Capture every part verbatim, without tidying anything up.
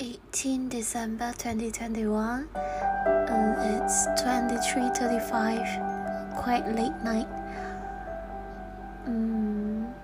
eighteenth December twenty twenty-one. Um, it's twenty-three thirty-five, quite late night. Um,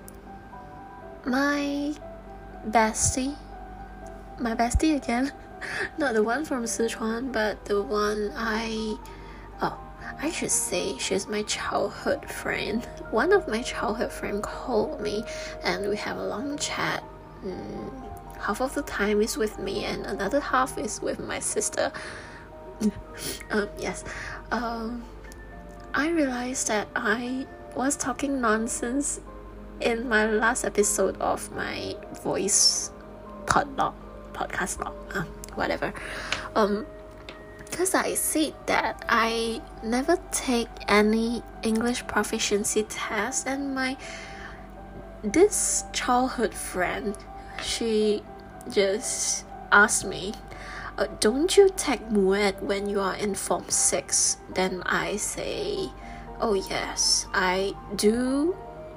my bestie, my bestie again, not the one from Sichuan, but the one I, oh, I should say she's my childhood friend. One of my childhood friends called me and we have a long chat. Um, half of the time is with me and another half is with my sister. um, yes. Um, I realized that I was talking nonsense in my last episode of my voice podlog, podcast log, uh, whatever. Um, because I said that I never take any English proficiency test, and my this childhood friend, she just asked me, uh, don't you take Muet when you are in form six? Then I say, oh yes, I do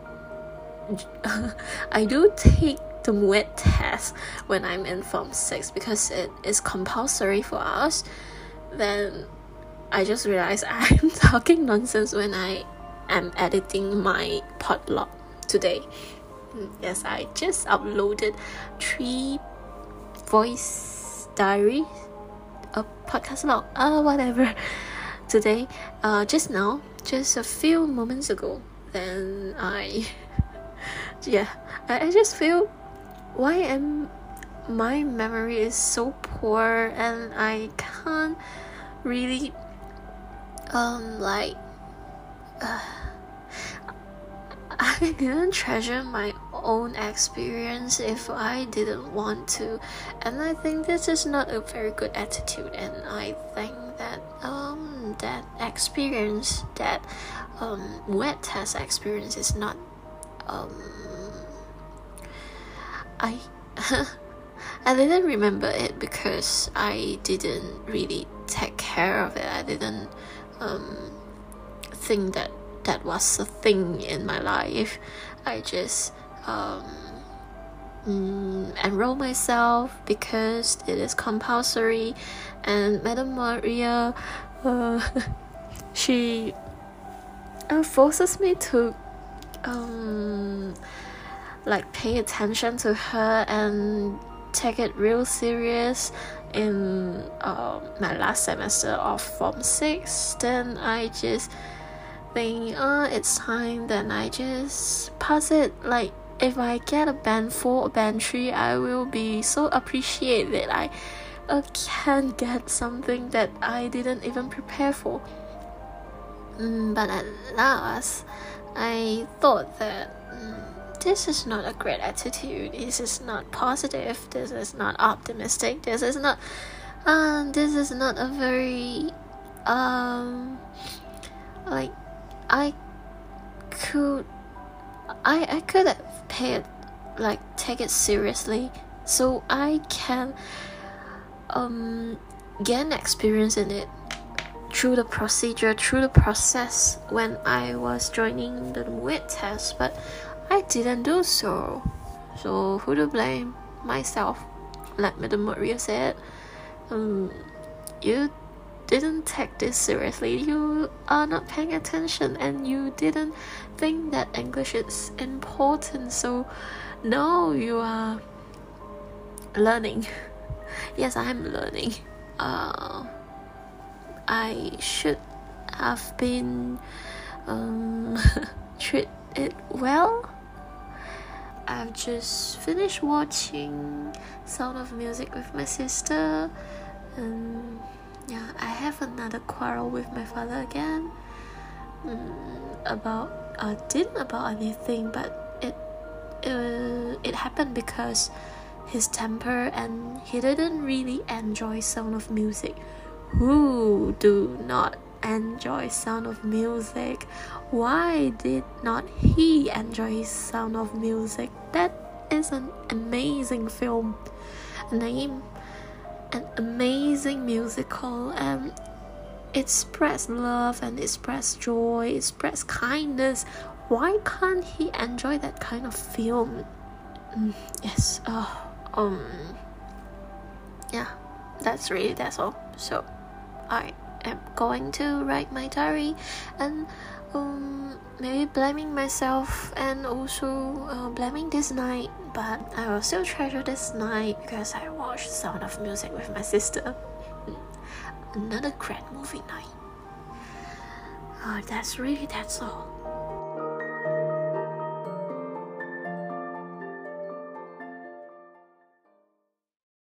I do take the Muet test when I'm in form six because it is compulsory for us. Then I just realized I'm talking nonsense when I am editing my podlog today. Yes, I just uploaded three voice diary, a podcast log, uh, whatever, today, uh, just now, just a few moments ago. Then I, yeah, I, I just feel, why am my memory is so poor and I can't really, um, like, uh, I didn't treasure my own experience if I didn't want to, and I think this is not a very good attitude. And I think that um that experience, that um wet test experience is not um I I didn't remember it because I didn't really take care of it. I didn't um think that that was a thing in my life. I just um, mm, enroll myself because it is compulsory, and Madam Maria, uh, she uh, forces me to um, like pay attention to her and take it real serious in uh, my last semester of form six. Then I just think, uh, it's time, then I just pass it. Like, if I get a band four or band three, I will be so appreciated that I uh, can get something that I didn't even prepare for. Mm, but at last, I thought that mm, this is not a great attitude. This is not positive. This is not optimistic. This is not, um, uh, this is not a very, um, like, I could I I could have paid, like, take it seriously so I can um gain experience in it through the procedure, through the process when I was joining the Muet test, but I didn't do so. So who to blame? Myself. Like Madam Maria said, um you didn't take this seriously. You are not paying attention and you didn't think that English is important. So now you are learning. Yes, I'm learning. Uh, I should have been um, treat it well. I've just finished watching Sound of Music with my sister, and yeah, I have another quarrel with my father again. Mm, about uh, didn't about anything, but it uh, it happened because his temper, and he didn't really enjoy Sound of Music. Who do not enjoy Sound of Music? Why did not he enjoy Sound of Music? That is an amazing film. Name an amazing musical, and it spreads love and it spreads joy, it spreads kindness. Why can't he enjoy that kind of film? Mm, yes. Uh, um yeah, that's really that's all. So I am going to write my diary and um, maybe blaming myself and also uh, blaming this night, but I will still treasure this night because I watched Sound of Music with my sister. Another great movie night. Uh, that's really that's all.